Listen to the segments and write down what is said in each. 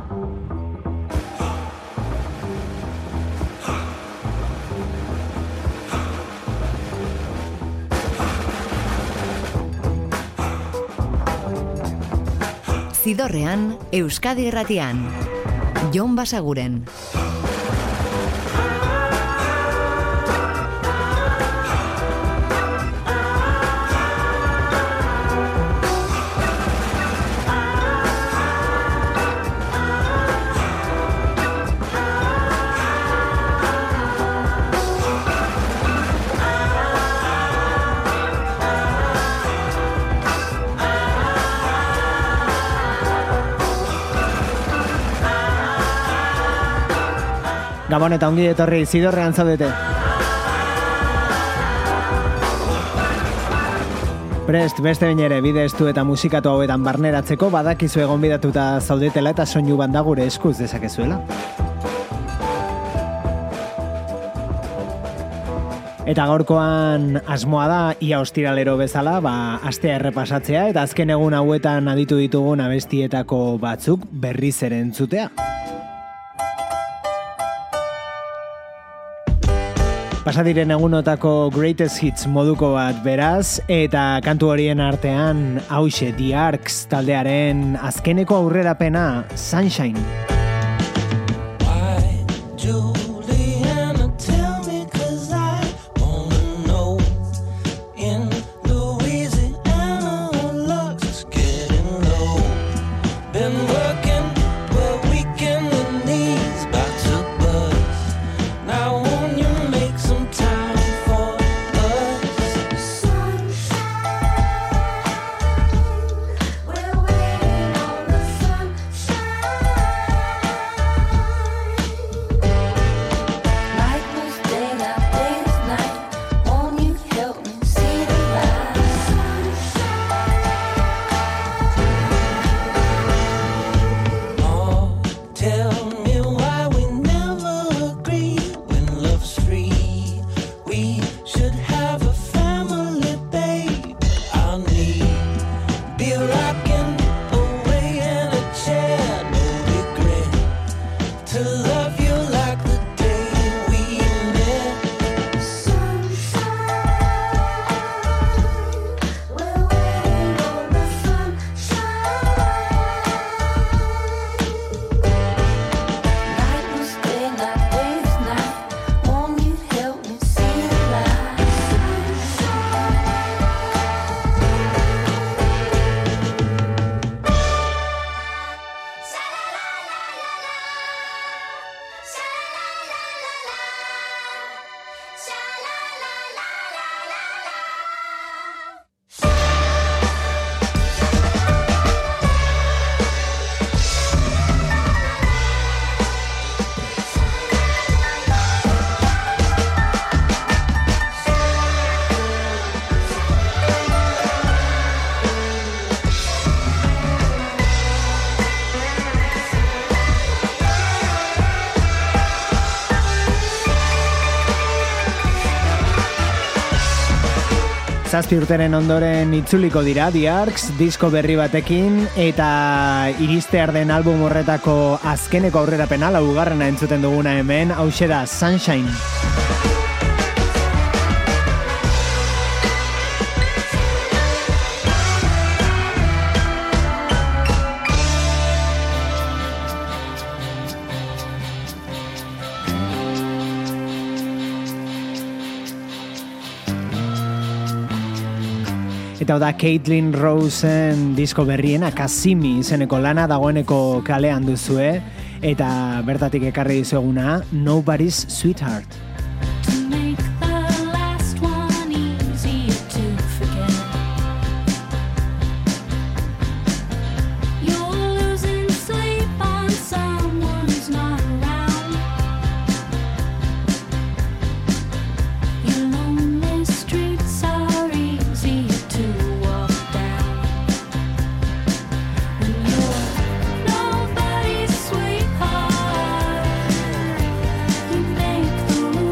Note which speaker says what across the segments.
Speaker 1: Zidorrean, Euskadi Irratian. Jon Basaguren.
Speaker 2: Gabon eta ongi etorri, Zidorrean zaudete. Prest, beste bain ere, bide estu eta musikatu hauetan barneratzeko badakizu gonbidatuta zaudetela eta soinu banda gure eskuz dezakezuela. Eta gaurkoan asmoa da, ia ostiralero bezala, astea errepasatzea eta azken egun hauetan aditu ditugun abestietako batzuk berriz ere entzutea. Pasadiren egunotako greatest hits moduko bat beraz, eta kantu horien artean hauxe The Arcs taldearen azkeneko aurrerapena Sunshine. Zazpi urteren ondoren itzuliko dira The Arcs, disko berri batekin, eta iristear den album horretako azkeneko aurrerapena, laugarrena entzuten duguna hemen, hauxe da Sunshine. Eta da Caitlin Rosen disko berriena Kasimi izeneko lana dagoeneko kalean duzue, eta bertatik ekarri dizueguna Nobody's Sweetheart.
Speaker 3: Nobody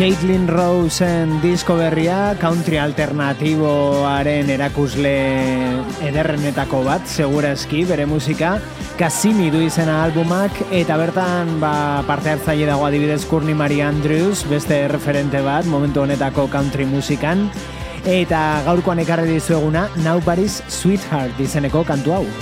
Speaker 2: Caitlin Roseen disko berria, country alternatiboaren erakusle ederrenetako bat, segurazki, bere musika, Cassini du izena albumak, eta bertan parte hartzaile dago adibidez Courtney Marie Andrews, beste referente bat, momentu honetako country musikan, eta gaurkoan ekarri dizueguna Nobody's Sweetheart izeneko kantu hau.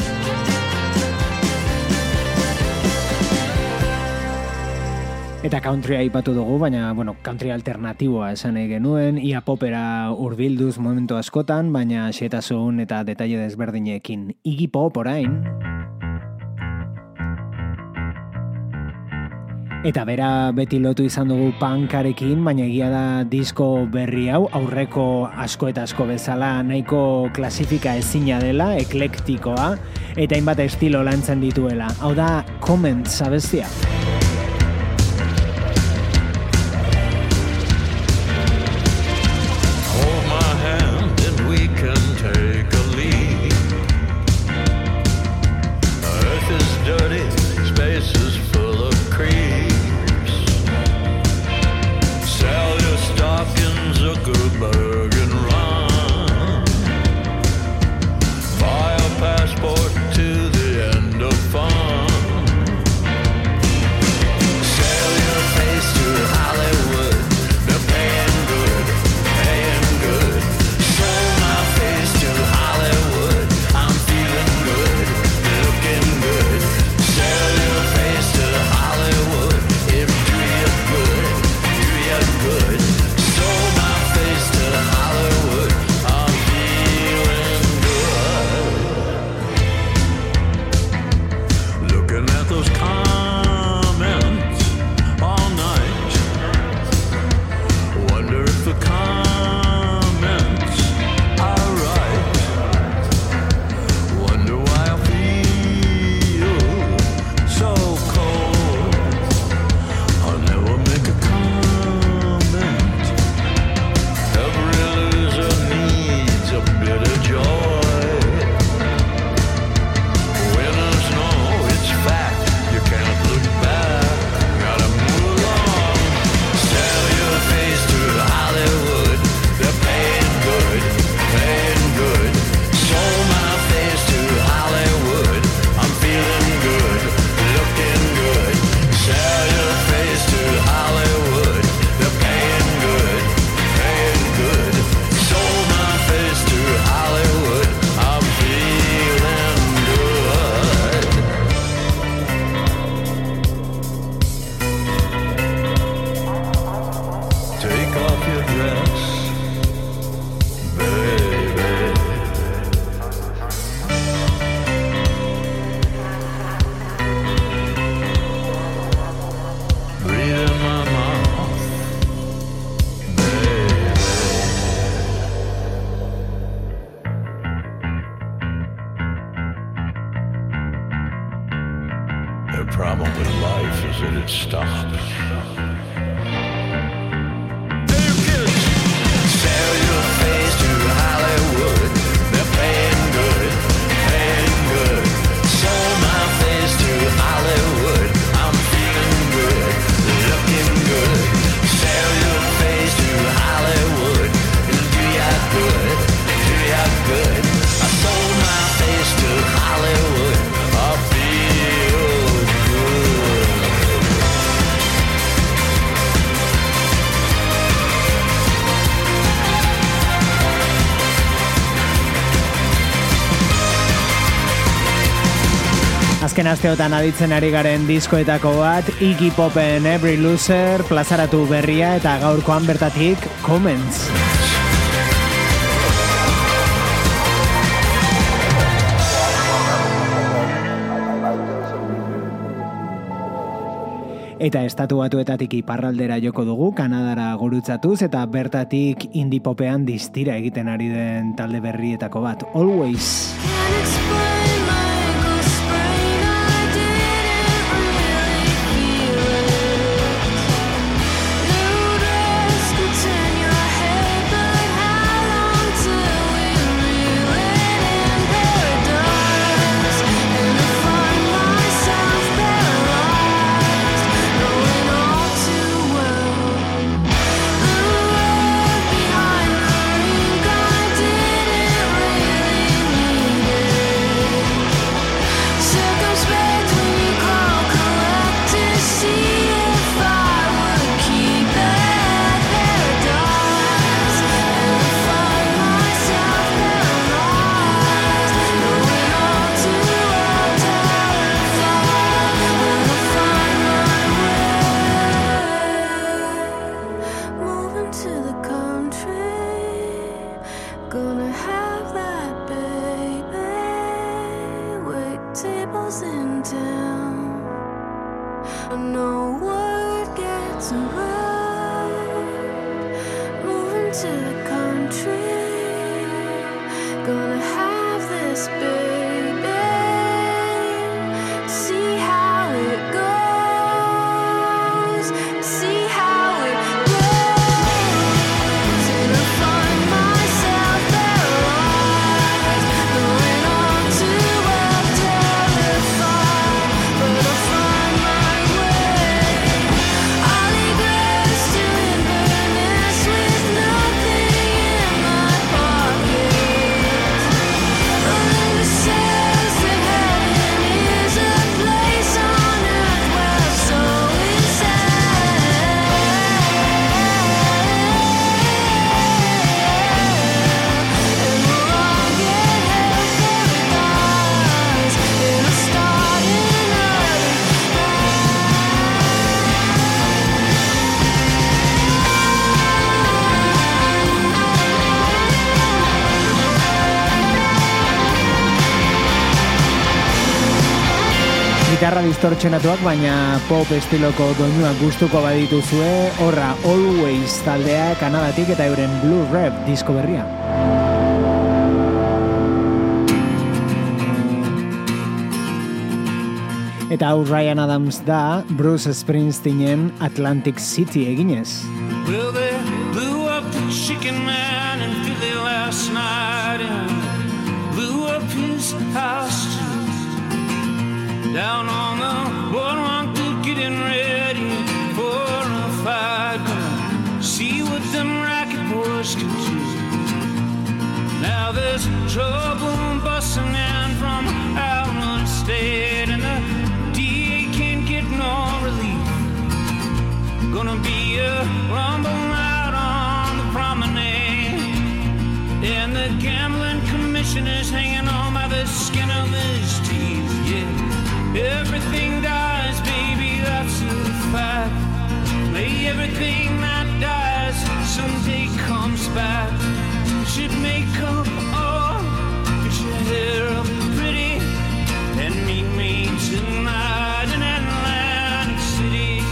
Speaker 2: Eta country aipatu dugu, baina, country alternatiboa esan genuen, ia popera urbilduz momentu askotan, baina xetasun eta detaile desberdinekin. Iggy Pop orain. Eta bera beti lotu izan dugu punkarekin, baina egia da disko berri hau, aurreko asko eta asko bezala, nahiko klasifika ezina dela, eklektikoa, eta hainbat estilo lantzen dituela. Hau da, Comments abestia. Azken asteotan aditzen ari garen diskoetako bat, Iggy Popen Every Loser, plazaratu berria eta gaurkoan bertatik Comments. Eta estatu batuetatik iparraldera joko dugu, Kanadara gurutzatuz, eta bertatik indie popean distira egiten ari den talde berrietako bat, Always.
Speaker 3: tables in town. No word gets around. Moving to the country. Gonna have this baby. See how it goes. See how it goes. And I find myself paralyzed, knowing all too well terrified. But I find my way. I'll egress to Inverness with nothing in my pocket. Melinda says that heaven is a place on earth where so is and we'll all get hell paradise in a starting early.
Speaker 2: Gitarra distortsionatuak, baina pop estiloko doinuak gustuko badituzue, horra Always taldea Kanadatik eta euren Blue Rap disko berria. Eta hau Ryan Adams da Bruce Springsteenen Atlantic City eginez.
Speaker 4: Well, they blew up the chicken man in Philly last night and blew up his house too. Down on the boardwalk, they're getting ready for a fight. Gonna see what them racket boys can do. Now there's trouble busting in from out of state, and the DA can't get no relief. Gonna be a rumble out on the promenade, and the gambling commissioner's hanging on by the skin of his teeth. Yeah, everything dies, baby, that's a fact. May everything that dies someday comes back. Should make up all, get your hair up pretty, and meet me tonight in Atlantic City.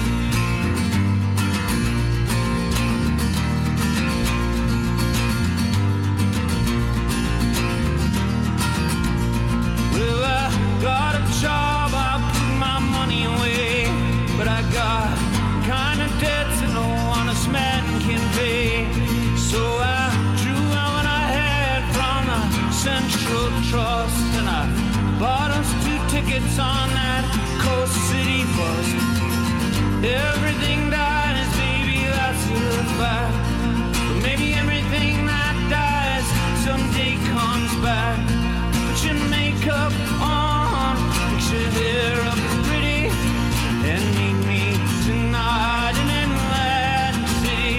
Speaker 4: Well, I got a job, I put my money away, but I got kind of debts that no honest man can pay. So I drew out what I had from the Central Trust, and I bought us 2 tickets on that Coast City bus. Everything dies, baby, that's a fact. But maybe everything that dies someday comes back. Put your makeup on, fix your hair up pretty, and meet me tonight in Atlantic City.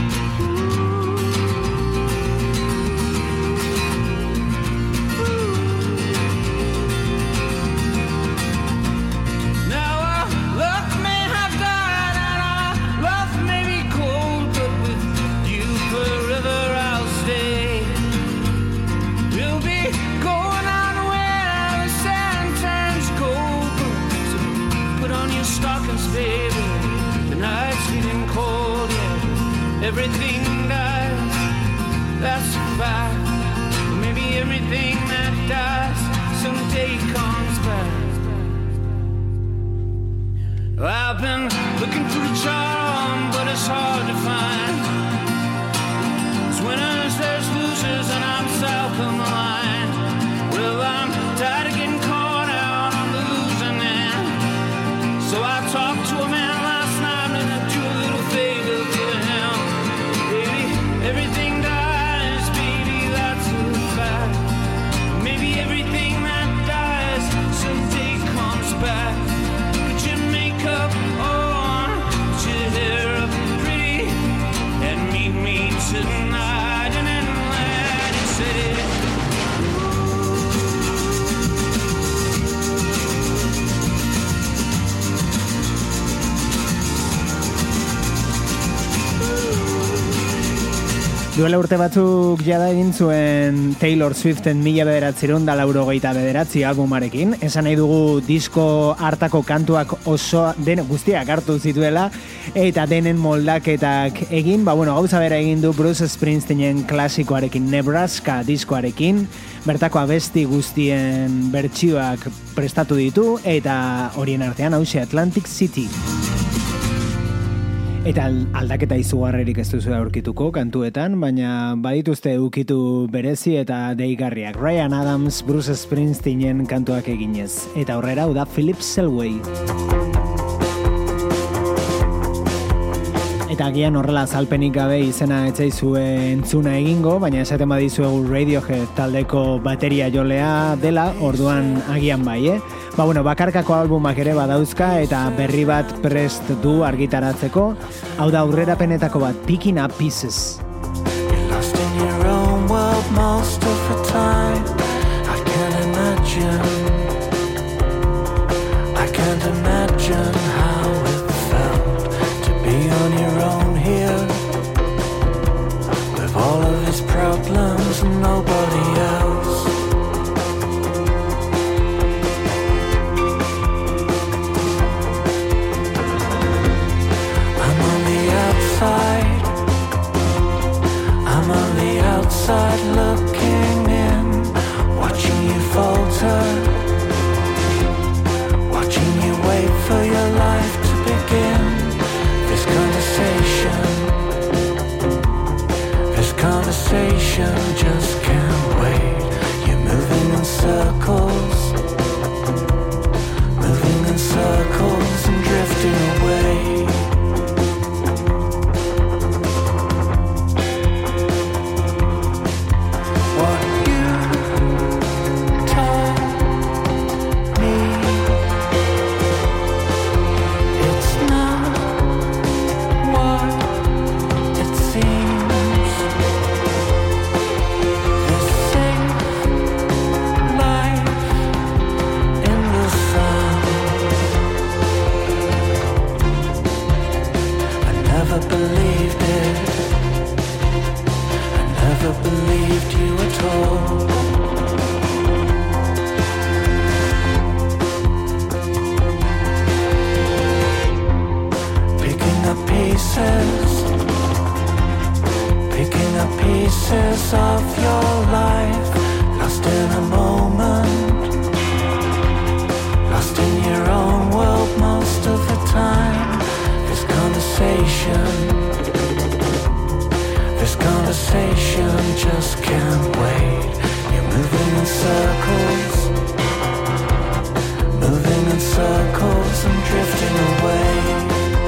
Speaker 4: Now our love may have died and our love may be cold, but with you forever I'll stay. We'll be going on where the sand turns gold. So put on your stockings, baby. The night's getting cold, yeah. Everything dies, that's a fact. But maybe everything that dies someday comes back. I've been looking for a charm, but it's hard to find. There's winners, there's losers, and I'm south of the line. Well, I'm tired of getting caught out on the losing end. So I talked to a man last night and I do a little favor for him. Baby, everything dies, baby,
Speaker 2: Duela urte batzuk jada egin zuen Taylor Swiften 1989 albumarekin. Esan nahi dugu disko hartako kantuak oso den guztiak hartu zituela eta denen moldaketak egin. Gauza bera egin du Bruce Springsteenen klasikoarekin, Nebraska diskoarekin. Bertako abesti guztien bertsioak prestatu ditu eta horien artean hauxe Atlantic City. Eta aldaketa izugarrerik ez duzu aurkituko kantuetan, baina badituzte ukitu berezi eta deigarriak. Ryan Adams, Bruce Springsteenen kantuak eginez. Eta aurrera hau da Philip Selway. Eta agian horrela azalpenik gabe izena etzaizue entzuna egingo, baina esaten badizuegu Radiohead taldeko bateria jolea dela, orduan agian bai, bakarkako albumak ere badauzka eta berri bat prest du argitaratzeko. Hau da aurrerapenetako bat, Picking Up Pieces.
Speaker 5: You're lost in your own world most of the time. I can't imagine how it felt to be on your own here, with all of his problems and nobody else. I'm on the outside looking in, watching you falter, watching you wait for your life to begin. This conversation just can't wait. You're moving in circles and drifting away. Pieces of your life, lost in a moment, lost in your own world most of the time. This conversation just can't wait. You're moving in circles and drifting away.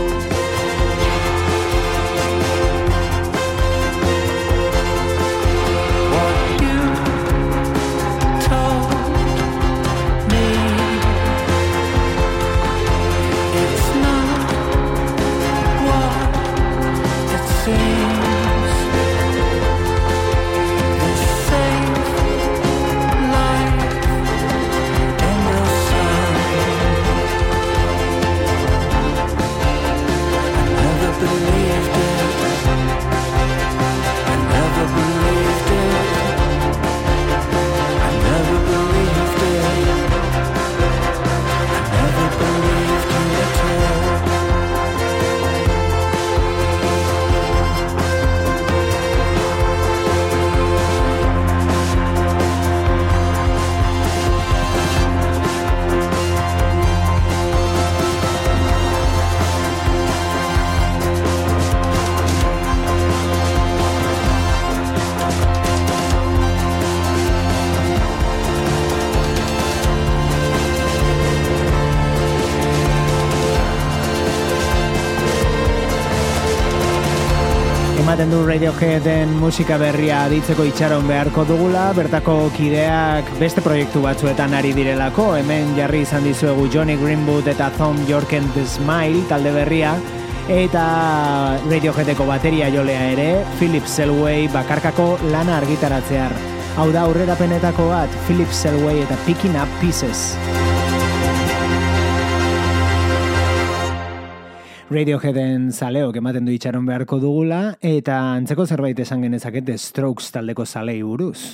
Speaker 2: ematen du Radioheaden musika berria aditzeko itxaron beharko dugula, bertako kideak beste proiektu batzuetan ari direlako, hemen jarri izan dizuegu Johnny Greenwood eta Thom Yorke and the Smile talde berria, eta Radioheadeko bateria jolea ere, Philip Selway bakarkako lana argitaratzear. Hau da aurrerapenetako bat, Philip Selway eta Picking Up Pieces. Radioheaden zaleok ematen du itxaron beharko dugula, eta antzeko zerbait esan genezaket The Strokes taldeko zalei buruz.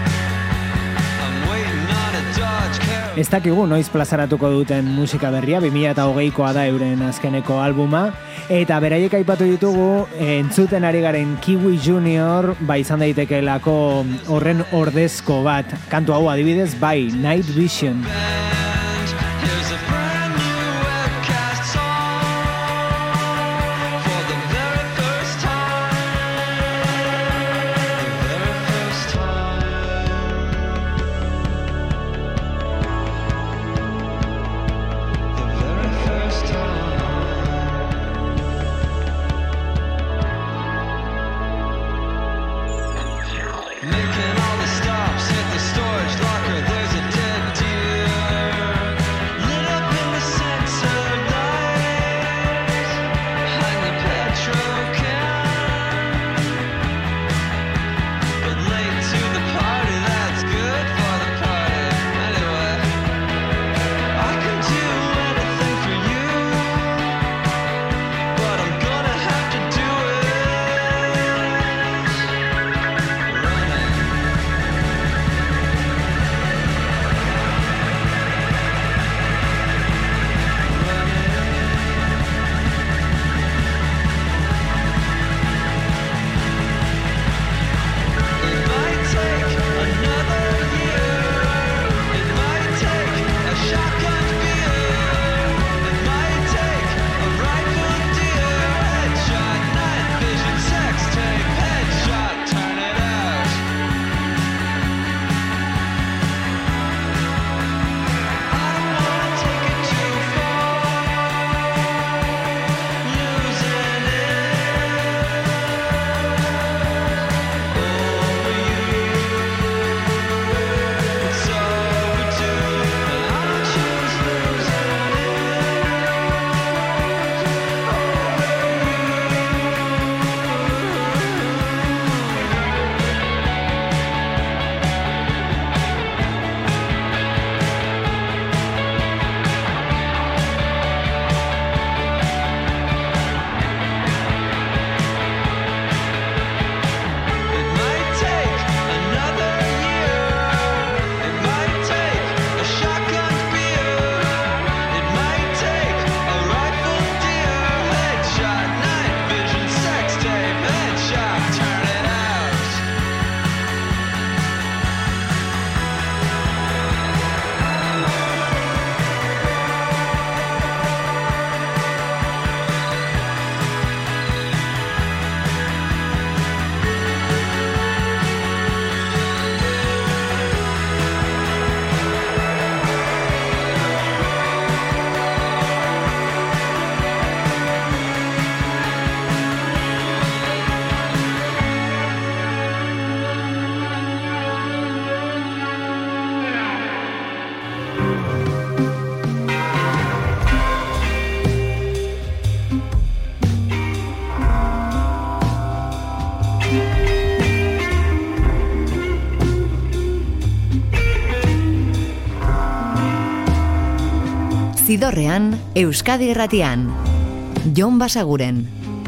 Speaker 2: Ez dakigu noiz plazaratuko duten musika berria, 2020koa da euren azkeneko albuma, eta beraiek aipatu ditugu entzuten ari garen Kiwi Junior, izan daitekeelako horren ordezko bat. Kantu hau adibidez, bai, Night Vision.
Speaker 1: Zidorrean, Euskadi Irratian. Jon Basaguren.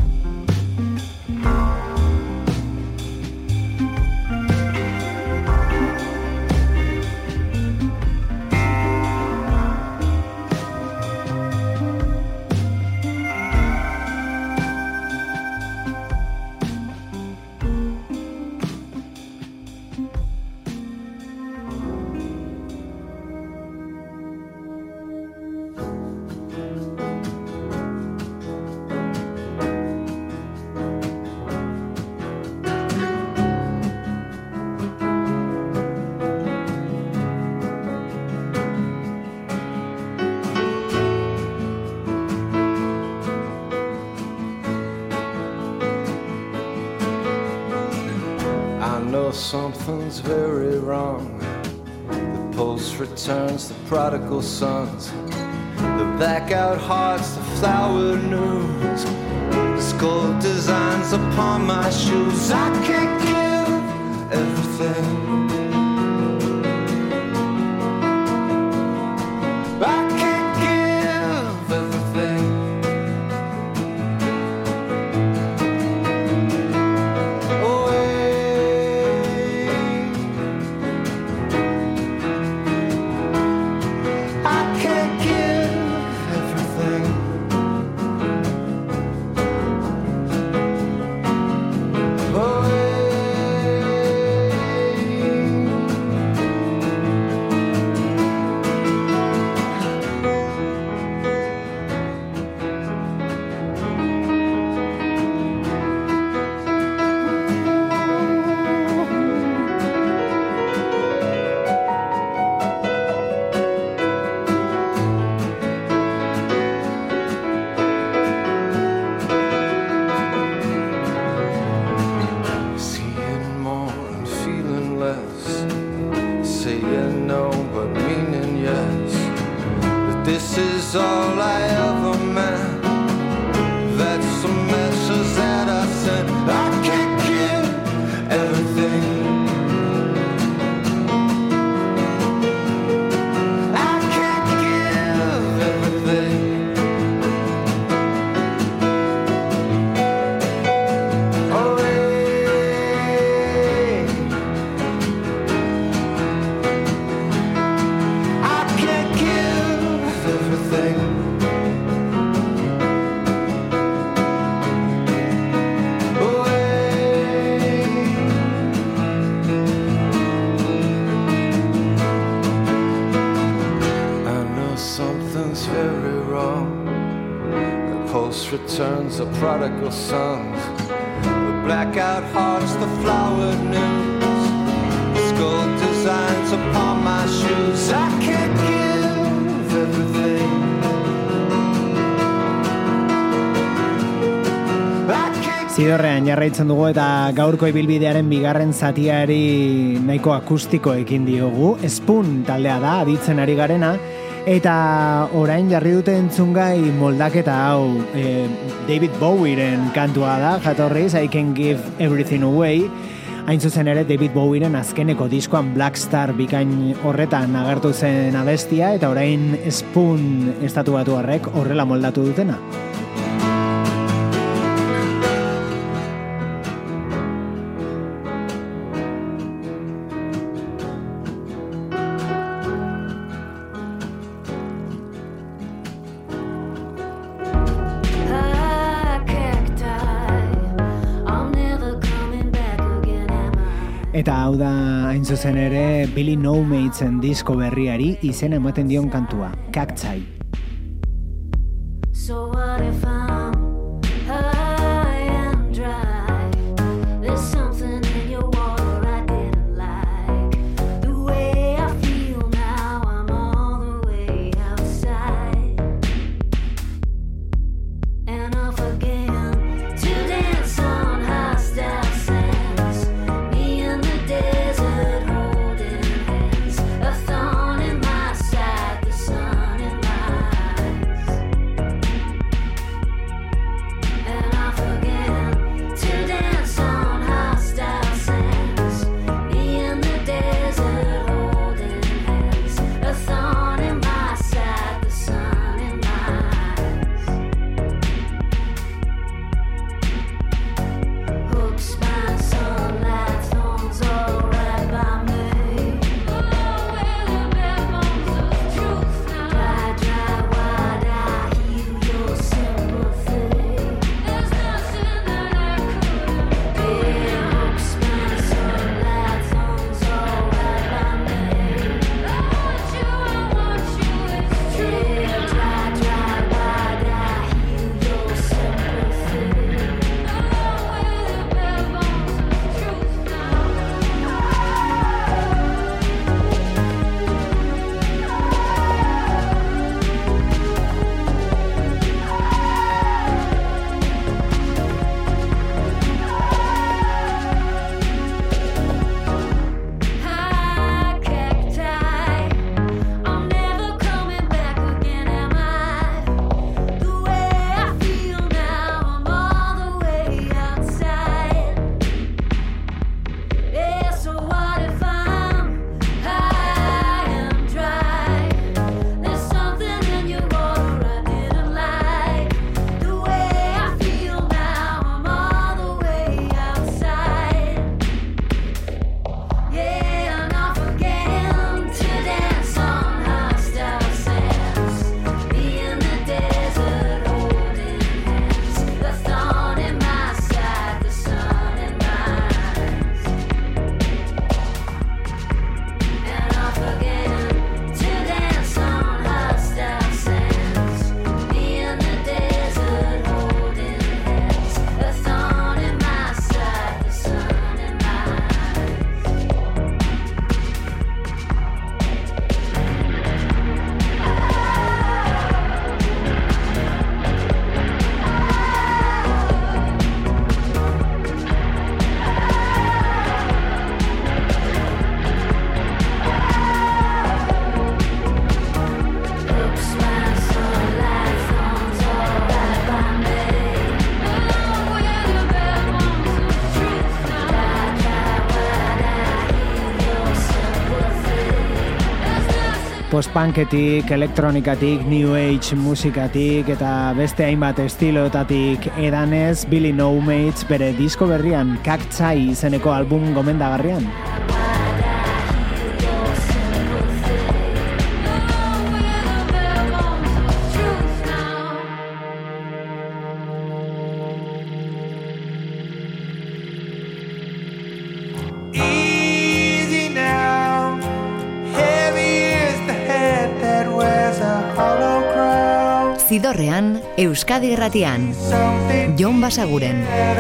Speaker 5: Something's very wrong. The post returns, the prodigal sons, the back-out hearts, the flower news, the skull designs upon my shoes. I can't give everything. I can't give everything. This is all I ever meant. That's the message that I sent. I can't give everything. I can't give everything. Returns of prodigal sons, the blackout hearts, the flowered news, skull designs upon my shoes. I can't give everything.
Speaker 2: Zidorrean jarraitzen dugu eta gaurko ibilbidearen bigarren zatiari nahiko akustiko ekin diogu. Spoon taldea da, aditzen ari garena. Eta orain jarri dute entzungai moldaketa hau David Bowieren kantua da, jatorriz I Can Give Everything Away. Hain zuzen ere David Bowieren azkeneko diskoan Black Star bikain horretan agertu zen abestia, eta orain Spoon estatu batuarrek horrela moldatu dutena. Eta hau da, hain zuzen ere, Billy No Matesen disko berriari izena ematen dion kantua, Cacti.
Speaker 3: So what if I'm high and dry? There's something in your water I didn't like. The way I feel now, I'm all the way outside. And off again to dance on hostile sands. Me in the desert holding hands. A thorn in my side, the sun in my eyes.
Speaker 2: Post-punketik, elektronikatik, new age musikatik eta beste hainbat estilotatik edanez, Billy No Mates bere disko berrian Cacti izeneko album gomendagarrian.
Speaker 1: Zidorrean, Euskadi Irratian. Jon Basaguren.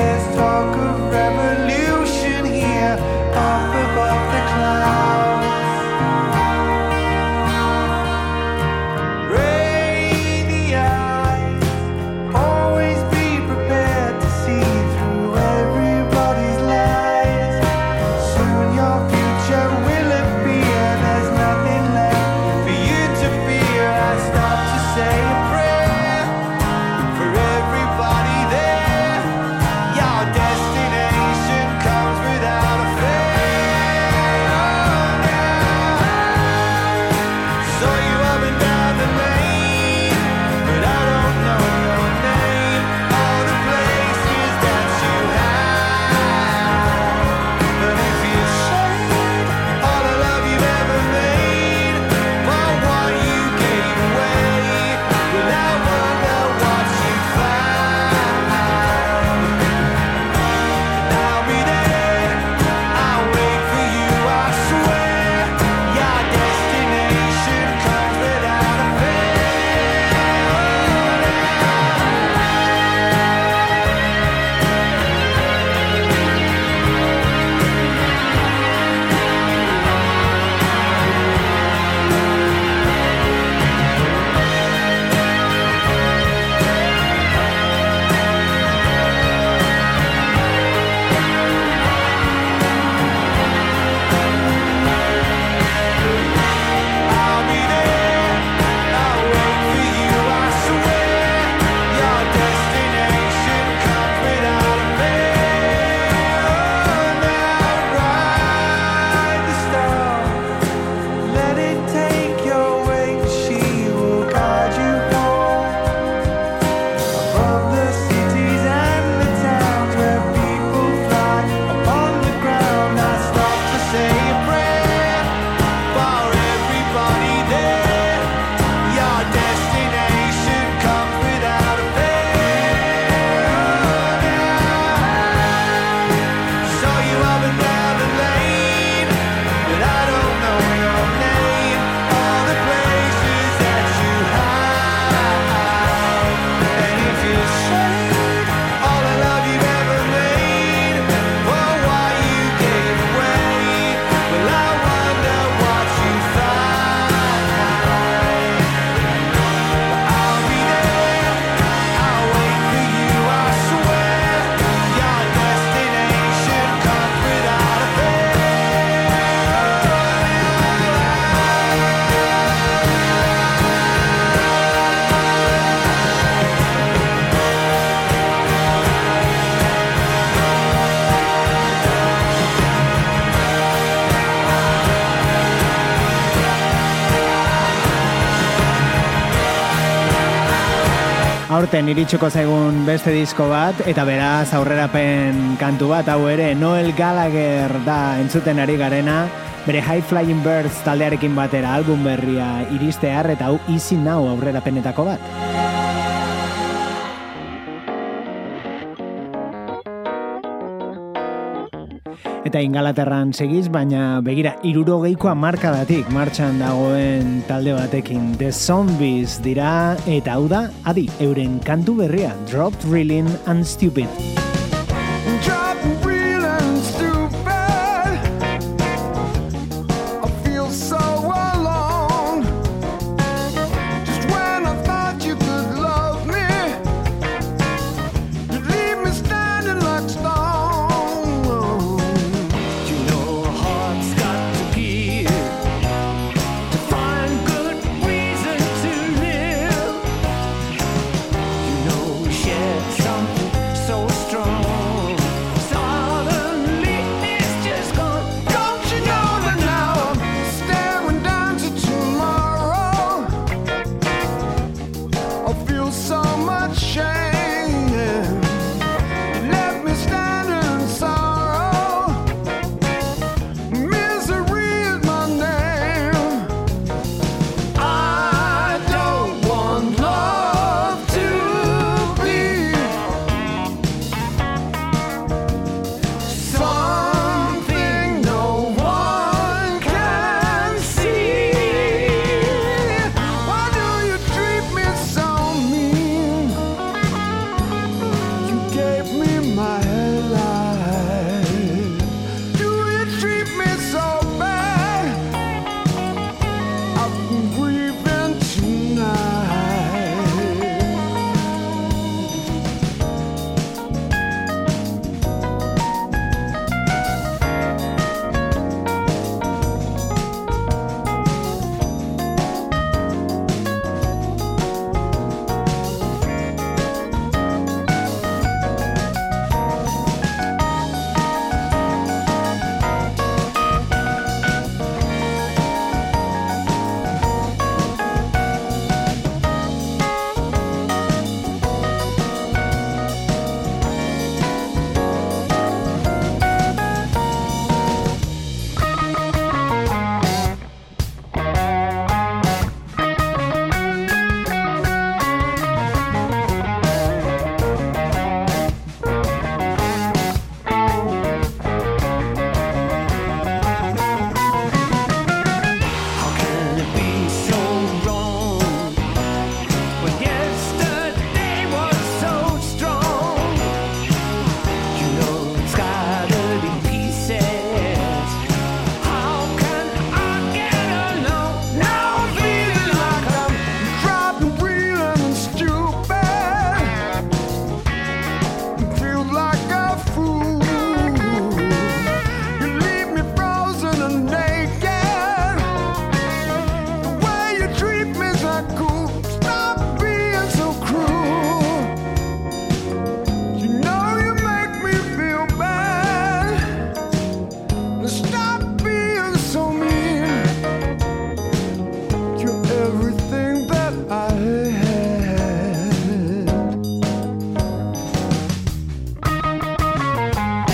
Speaker 2: Aurten iritsuko zaigun beste disko bat, eta beraz aurrerapen kantu bat, hau ere Noel Gallagher da entzuten ari garena, bere High Flying Birds taldearekin batera album berria iristear, eta hau Easy Now aurrerapenetako bat. Eta Ingalaterran segiz, baina begira 60ko hamarkadatik martxan dagoen talde batekin. The Zombies dira, eta hau da, adi, euren kantu berria, Dropped Reeling and Stupid.
Speaker 6: So strong, so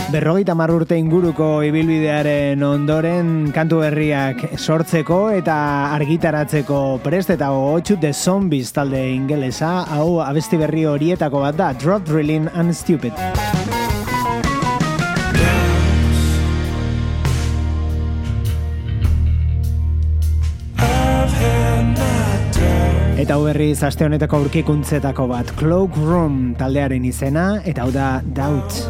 Speaker 2: 50 urte inguruko ibilbidearen ondoren kantu berriak sortzeko eta argitaratzeko prest eta gogotsu The Zombies talde ingelesa, hau abesti berri horietako bat da, Drop Drilling and Stupid. Eta hau berriz aste honetako aurkikuntzetako bat, Cloakroom taldearen izena, eta hau da Doubt.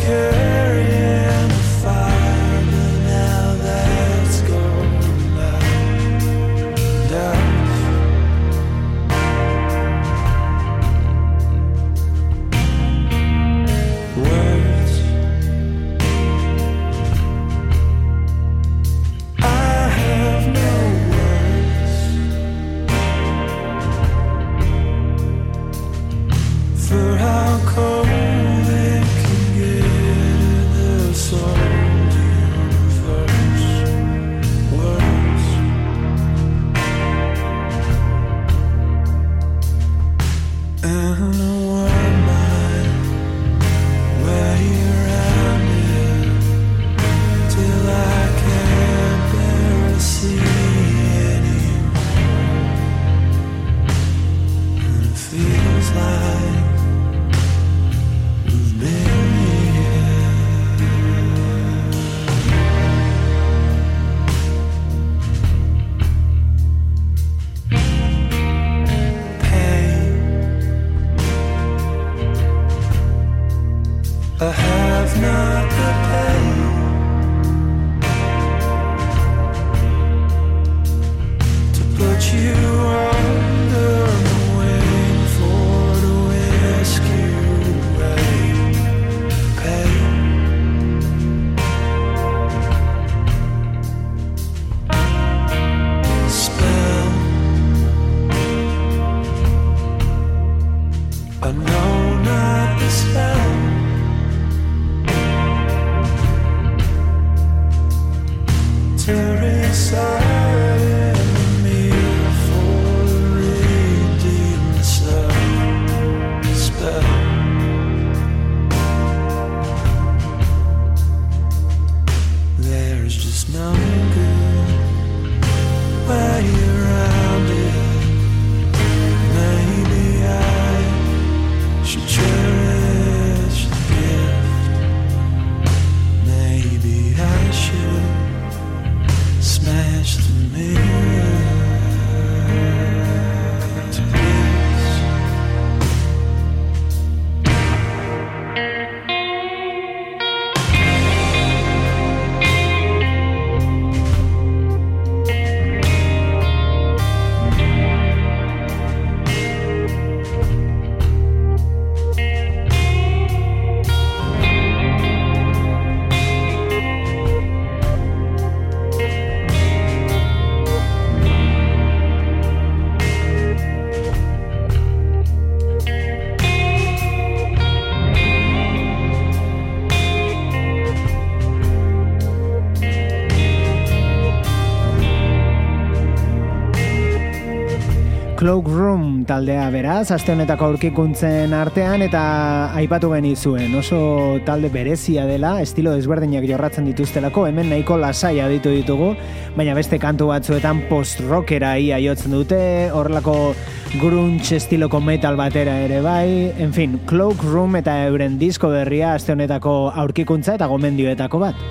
Speaker 2: Cloakroom taldea beraz, aste honetako aurkikuntzen artean eta aipatu genizuen, oso talde berezia dela, estilo desberdinak jorratzen dituztelako, hemen nahiko lasai aditu ditugu, baina beste kantu batzuetan post-rockera ia jotzen dute, horrelako grunge estiloko metal batera ere bai, en fin, Cloakroom eta euren disko berria aste honetako aurkikuntza eta gomendioetako bat.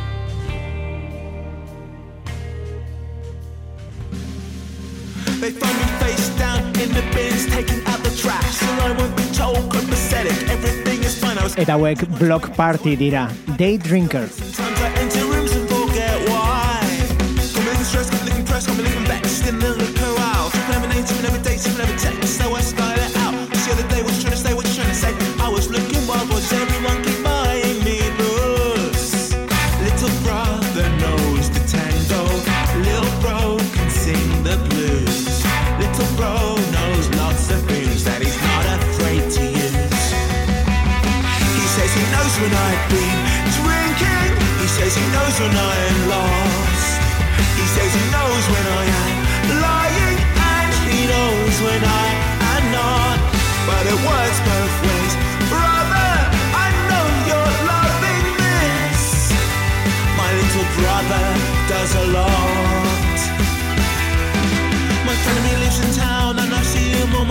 Speaker 6: They find me face down in the bins, taking out the trash. And I won't be told, copacetic, everything is fine.
Speaker 2: Eta hauek Block Party dira, Day Drinker.
Speaker 6: Sometimes I enter rooms and forget why. Come living stressed, come living pressed, come living vexed. In the look around, never names, never dates, never text. So I style it out. The other day was trying to say what you're trying to say. I was looking wild, was everyone keep buying me loose? Little brother knows the tango. Little bro can sing the blues. Little bro knows lots of things that he's not afraid to use. He says he knows when I've been drinking. He says he knows when I am lost. He says he knows when I am lying. And he knows when I am not. But it works both ways. Brother, I know you're loving me.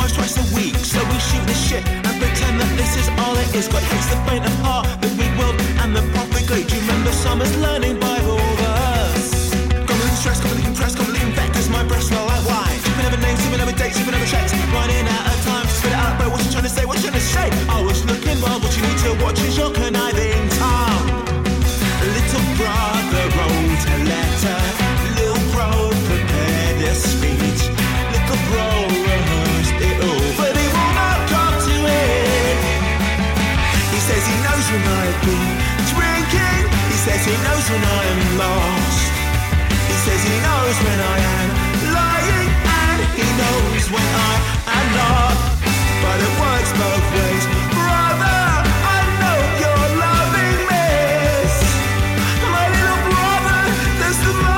Speaker 6: twice a week. So we shoot the shit and pretend that this is all it is. God hates the faint of heart, the big world and the profit great. Do you remember summer's learning Bible verse? Completely stressed, completely impressed, completely infected. Cause my breasts smell like wine. Keeping over names, keeping over dates, keeping over checks. Running out of time to spit it out, but what's you trying to say, what you trying to say? I was looking well, what you need to watch is your conniving tongue. Little brother wrote a letter, little bro prepared a speech, little bro rehearsed it all, but he will not come to it. He says he knows when I've been drinking, he says he knows when I am lost, he says he knows when I am lying, and he knows when I am not, but it works both ways. Brother, I know you're loving this, my little brother does the most.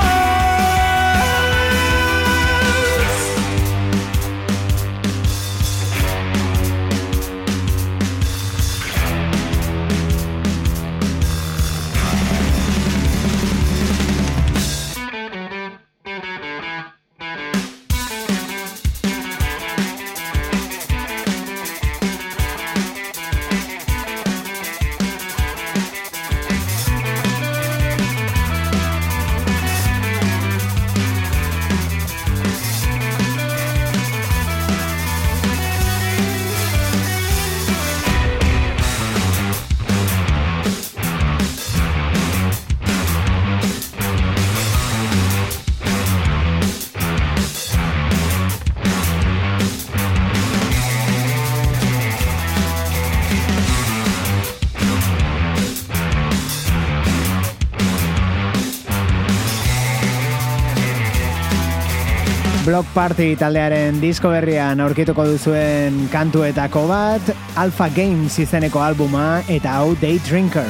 Speaker 2: Block Party taldearen disko berrian aurkituko duzuen kantuetako bat, Alpha Games izeneko albuma eta hau Day Drinker.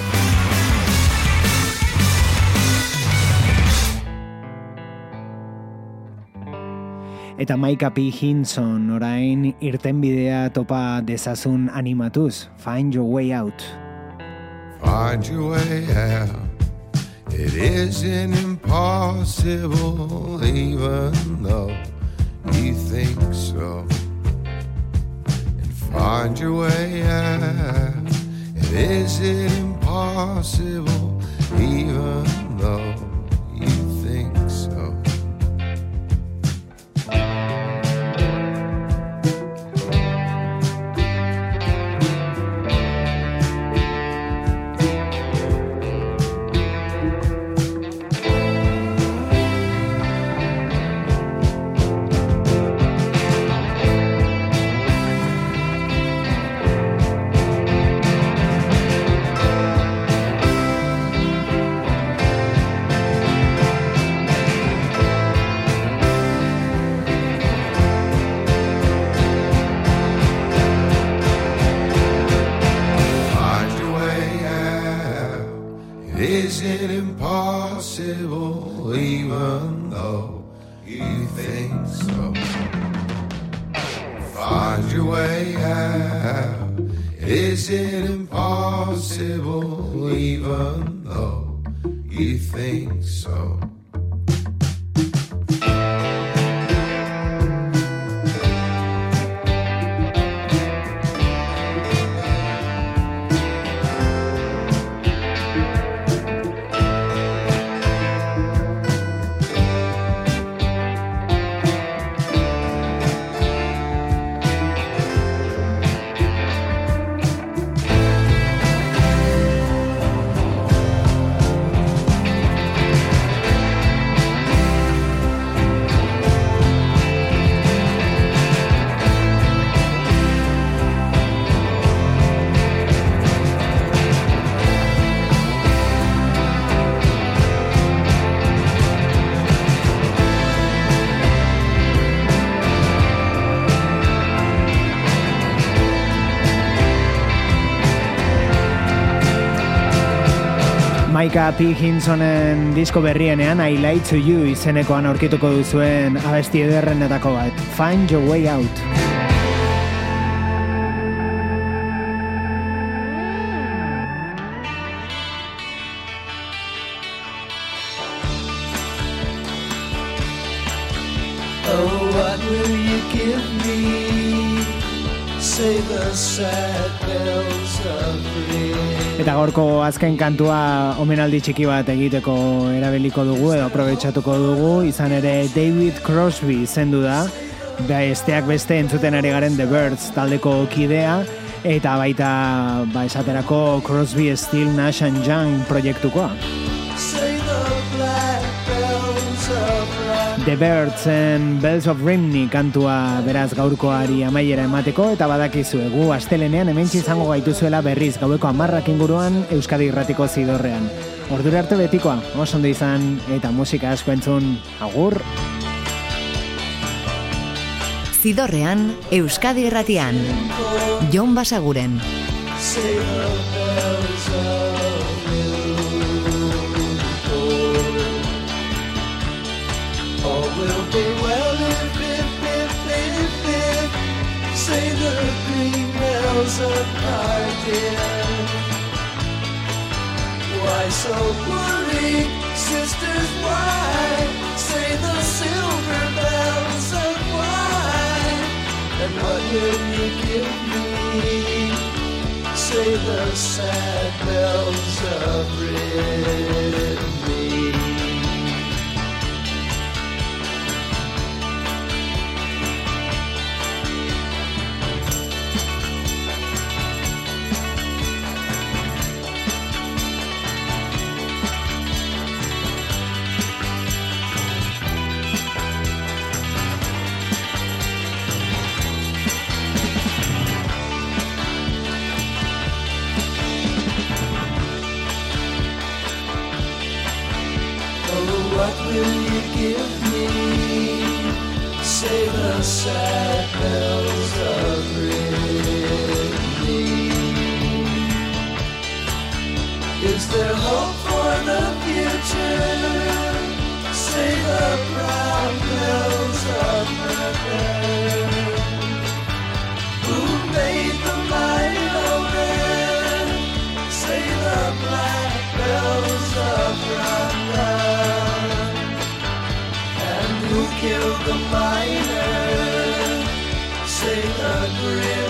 Speaker 2: Eta Micah P. Hinson orain irtenbidea topa dezazun animatuz. Find your way out.
Speaker 7: Find your way out. It isn't impossible, even though you think so. And find your way out. It isn't impossible, even though you think so.
Speaker 2: Micah P. Hinsonen disko berrienean I Lie to You izenekoan aurkituko duzuen abesti ederrenetako bat. Find your way out.
Speaker 8: Oh, what will you give me
Speaker 5: say the sad bells of ring.
Speaker 2: Eta gaurko azken kantua omenaldi txiki bat egiteko erabiliko dugu edo aprobetxatuko dugu, izan ere David Crosby izendu da, besteak beste entzuten ari garen The Byrds taldeko kidea, eta baita esaterako Crosby, Still, Nash & Young proiektukoa. The Birdsen Bells of Rimney kantua beraz gaurkoari amaiera emateko, eta badakizu egu astelenean hementsi izango gaituzuela berriz gaueko 10 inguruan Euskadi Irratiko Zidorrean. Ordura arte betikoa, oso ondo izan eta musika asko entzun, agur!
Speaker 1: Zidorrean, Euskadi Irratian. Jon Basaguren.
Speaker 5: Will be well if say the green bells of Cardiff. Why so worried, sisters, why? Say the silver bells of wine. And what will you give me? Say the sad bells of Ridley. What will you give me? Say the sad bells of Ridley. Is there hope for the future? Say the brown bells of Berlin. Who made the mighty open? Say the black bells of Rambla. Who killed the miner? Say the grim